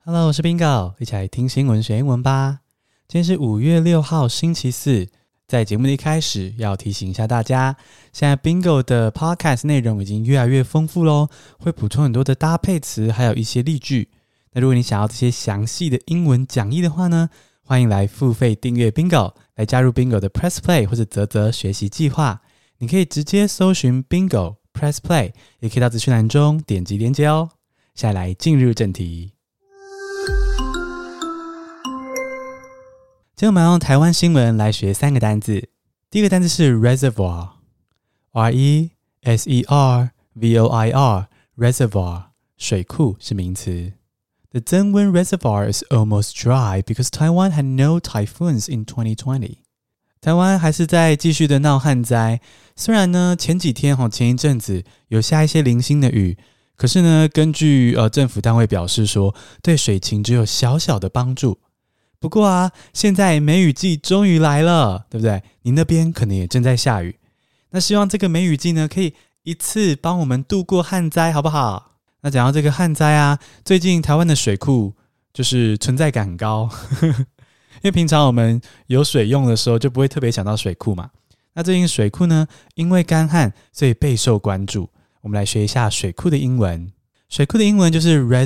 Hello， 我是 Bingo， 一起來聽新聞學英文吧。今天是5月6號星期四，在節目的一開始要提醒一下大家，現在 Bingo 的 Podcast 內容已經越來越豐富咯，會補充很多的搭配詞，還有一些例句。那如果你想要這些詳細的英文講義的話呢，歡迎來付費訂閱 Bingo， 來加入 Bingo 的 Press Play 或者嘖嘖學習計劃。你可以直接搜尋 Bingo Press Play， 也可以到資訊欄中點擊連結哦。現在來進入正題。今天我們要用台灣新聞來學3個單字。第一個單字是 reservoir， R-E-S-E-R-V-O-I-R， reservoir， 水庫是名詞。The Zengwen Reservoir is almost dry because Taiwan had no typhoons in 2020. 台灣還是在繼續的鬧旱災，雖然呢前一陣子有下一些零星的雨，可是呢根據政府單位表示說，對水情只有小小的幫助。不過啊，現在梅雨季終於來了，對不對？你那邊可能也正在下雨。那希望這個梅雨季呢，可以一次幫我們度過旱災，好不好？那講到這個旱災啊，最近台灣的水庫就是存在感很高，因為平常我們有水用的時候就不會特別想到水庫嘛。那最近水庫呢，因為乾旱，所以備受關注。我們來學一下水庫的英文。水庫的英文就是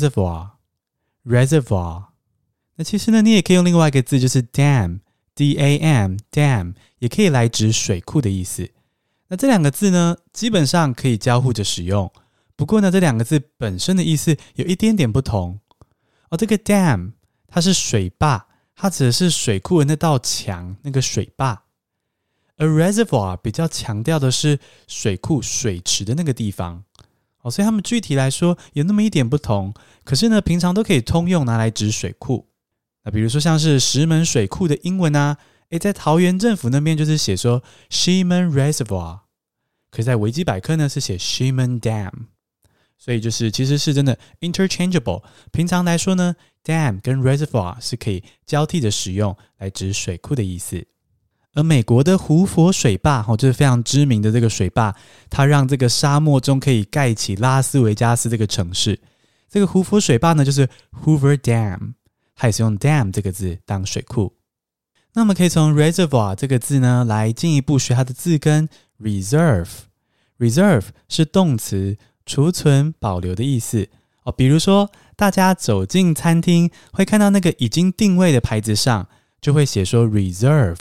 reservoir。那其實呢，你也可以用另外一個字，就是 dam， D-A-M， dam， 也可以來指水庫的意思。那這兩個字呢，基本上可以交互着使用。不過呢，這兩個字本身的意思有一點點不同。這個 dam 它是水壩，它指的是水庫的那道牆，那個水壩。而 reservoir 比較強調的是水庫水池的那個地方。所以它們具體來說有那麼一點不同，可是呢，平常都可以通用拿來指水庫。那比如說像是石門水庫的英文啊，在桃園政府那邊就是寫說 Ximen Reservoir， 可是在維基百科呢是寫 Ximen Dam， 所以就是其實是真的 interchangeable。平常來說呢 ，dam 跟 reservoir 是可以交替的使用來指水庫的意思。而美國的胡佛水壩就是非常知名的這個水壩，它讓這個沙漠中可以蓋起拉斯維加斯這個城市。這個胡佛水壩呢就是 Hoover Dam， 它也是用 dam 這個字當水庫。那我們可以從 reservoir 這個字呢來進一步學它的字根 reserve。reserve 是動詞，儲存保留的意思。比如說大家走進餐廳會看到那個已經定位的牌子上就會寫說 reserved，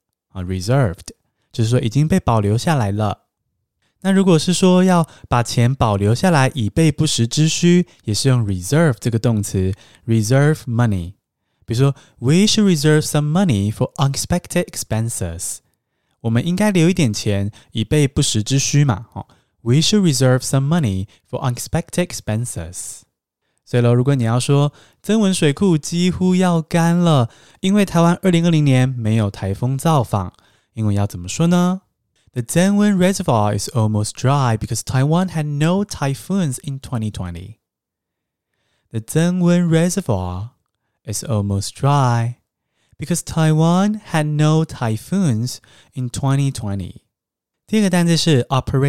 就是說已經被保留下來了。那如果是說要把錢保留下來以備不時之需，也是用 reserve 這個動詞 reserve money。比如說 we should reserve some money for unexpected expenses， 我們應該留一點錢以備不時之需嘛。We should reserve some money for unexpected expenses。 所以如果你要說曾文水庫幾乎要乾了，因為台灣2020年沒有颱風造訪，英文要怎麼說呢？ The Zengwen Reservoir is almost dry because Taiwan had no typhoons in 2020. The Zengwen Reservoir is almost dry because Taiwan had no typhoons in 2020. 第二個單字是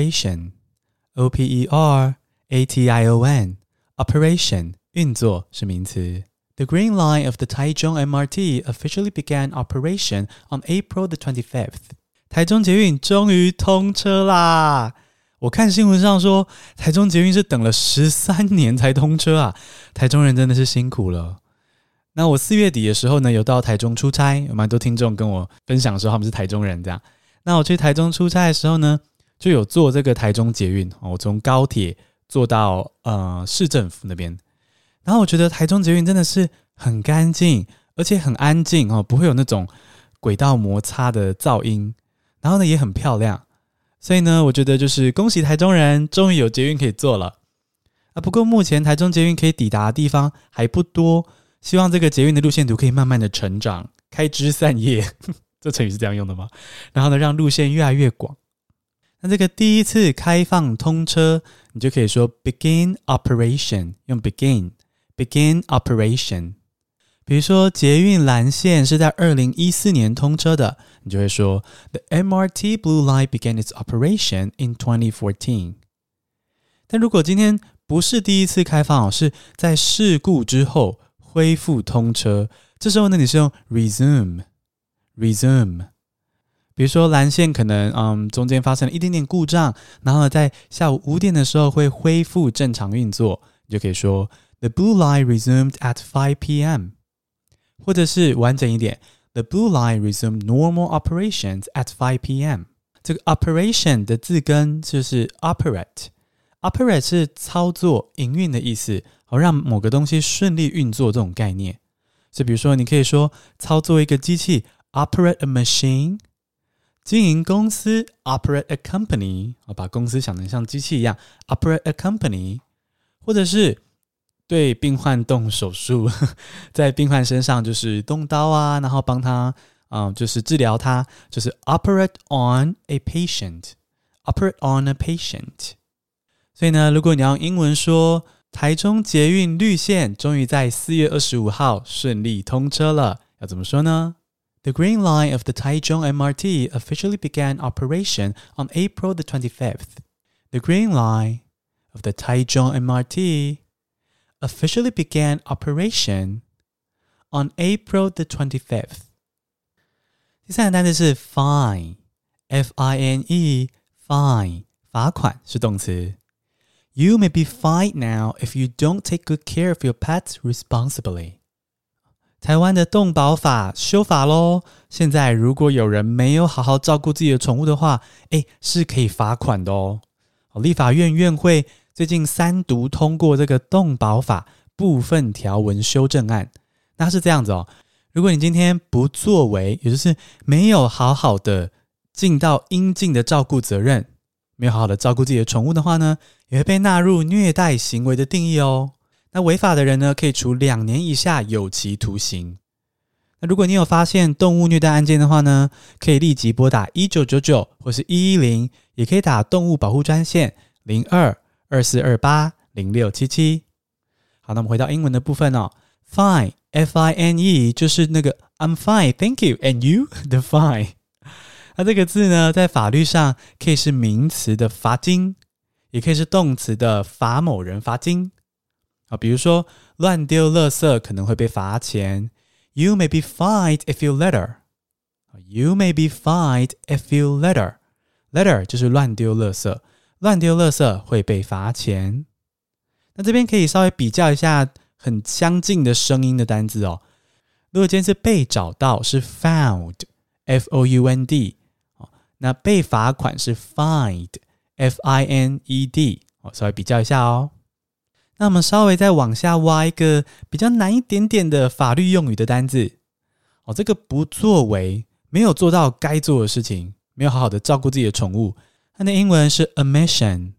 operation。O-P-E-R-A-T-I-O-N Operation 運作是名詞。The Green Line of the Taichung MRT officially began operation on April the 25th. 台中捷運終於通車啦！我看新聞上說，台中捷運是等了13年才通車啊！台中人真的是辛苦了。那我4月底的時候呢，有到台中出差，有蠻多聽眾跟我分享說他們是台中人這樣。那我去台中出差的時候呢，就有坐這個台中捷運，我從高鐵坐到市政府那邊，然後我覺得台中捷運真的是很乾淨，而且很安靜，不會有那種軌道摩擦的噪音，然後呢也很漂亮，所以呢我覺得就是恭喜台中人終於有捷運可以坐了。不過目前台中捷運可以抵達的地方還不多，希望這個捷運的路線圖可以慢慢的成長，開枝散葉，這成語是這樣用的嗎？然後呢讓路線越來越廣。那這個第一次開放通車，你就可以說 begin operation， 用 begin operation。比如說捷運藍線是在2014年通車的，你就會說 The MRT Blue Line began its operation in 2014。但如果今天不是第一次開放，是在事故之後恢復通車。這時候呢，你是用 resume。比如說藍線可能中間發生了一點點故障，然後呢在下午5點的時候會恢復正常運作，你就可以說 The blue line resumed at 5 p.m. 或者是完整一點 The blue line resumed normal operations at 5 p.m. 這個 operation 的字根就是 operate 是操作營運的意思，讓某個東西順利運作這種概念。所以比如說你可以說操作一個機器 operate a machine， 經營公司 operate a company， 把公司想成像機器一樣 operate a company， 或者是對病患動手術，在病患身上就是動刀啊，然後幫他就是治療他，就是 operate on a patient。 所以呢，如果你要用英文說台中捷運綠線終於在4月25號順利通車了，要怎麼說呢？ The Green Line of the Taichung MRT officially began operation on April the 25th. The Green Line of the Taichung MRT officially began operation on April the 25th. 第三個單詞是 fine， F-I-N-E， fine， 罰款是動詞。You may be fined now if you don't take good care of your pets responsibly. 台灣的動保法修法咯，現在如果有人沒有好好照顧自己的寵物的話，是可以罰款的哦。立法院院會最近3讀通過這個動保法部分條文修正案。那是這樣子哦，如果你今天不作為，也就是沒有好好的盡到應盡的照顧責任，沒有好好的照顧自己的寵物的話呢，也會被納入虐待行為的定義哦。那違法的人呢，可以處2年以下有期徒刑。那如果你有發現動物虐待案件的話呢，可以立即撥打1999或是110，也可以打動物保護專線02-2428-0677。好，那我們回到英文的部分哦。Fine， F-I-N-E 就是那個 I'm fine, thank you, and you? The fine。那這個字呢，在法律上可以是名詞的罰金，也可以是動詞的罰某人罰金。比如說亂丟垃圾可能會被罰錢。You may be fined if you litter. You may be fined if you litter. Litter 就是亂丟垃圾，亂丟垃圾會被罰錢。那這邊可以稍微比較一下很相近的聲音的單字哦。如果今天是被找到是 found, F-O-U-N-D。那被罰款是 fined, F-I-N-E-D， 稍微比較一下哦。那我們稍微再往下挖一個比較難一點點的法律用語的單字。這個不作為，沒有做到該做的事情，沒有好好的照顧自己的寵物，它的英文是 omission。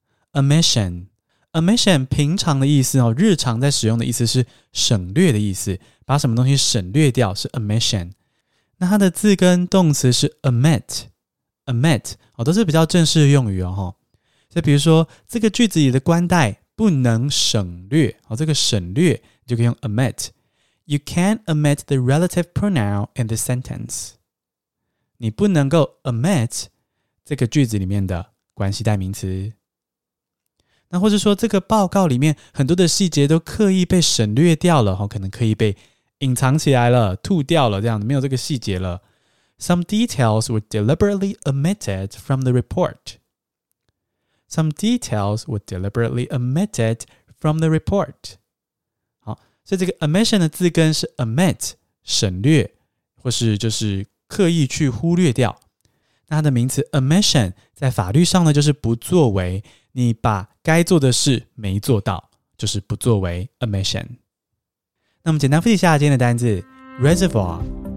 omission 平常的意思日常在使用的意思是省略的意思，把什麼東西省略掉是 omission。 那它的字根動詞是 omit， 都是比較正式的用語哦。所以比如說這個句子裡的冠帶不能省略，這個省略就可以用 omit。 You can't omit the relative pronoun in the sentence。 你不能夠 omit 這個句子裡面的關係代名詞。那或者說這個報告裡面很多的細節都刻意被省略掉了，可能刻意被隱藏起來了，吐掉了，這樣沒有這個細節了。Some details were deliberately omitted from the report. Some details were deliberately omitted from the report. 好，所以這個 omission 的字根是 omit， 省略，或是就是刻意去忽略掉。那它的名詞 omission 在法律上呢，就是不作為，你把該做的事沒做到，就是不作為 omission。那我們簡單複習一下今天的單字 reservoir，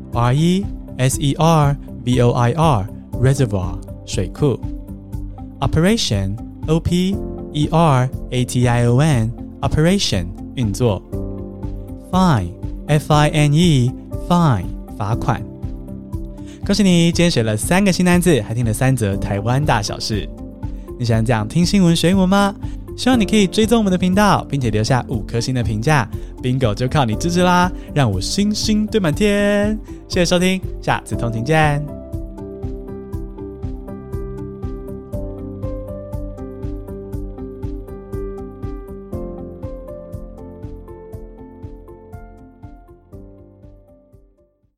R-E-S-E-R-V-O-I-R， reservoir 水庫。Operation O-P-E-R-A-T-I-O-N Operation 運作。Fine F-I-N-E Fine 罰款。恭喜你今天學了3個新單字，還聽了3則台灣大小事。你喜歡這樣聽新聞學英文嗎？希望你可以追蹤我們的頻道，並且留下5顆星的評價。Bingo 就靠你支持啦，讓我星星堆滿天。謝謝收聽，下次通勤見。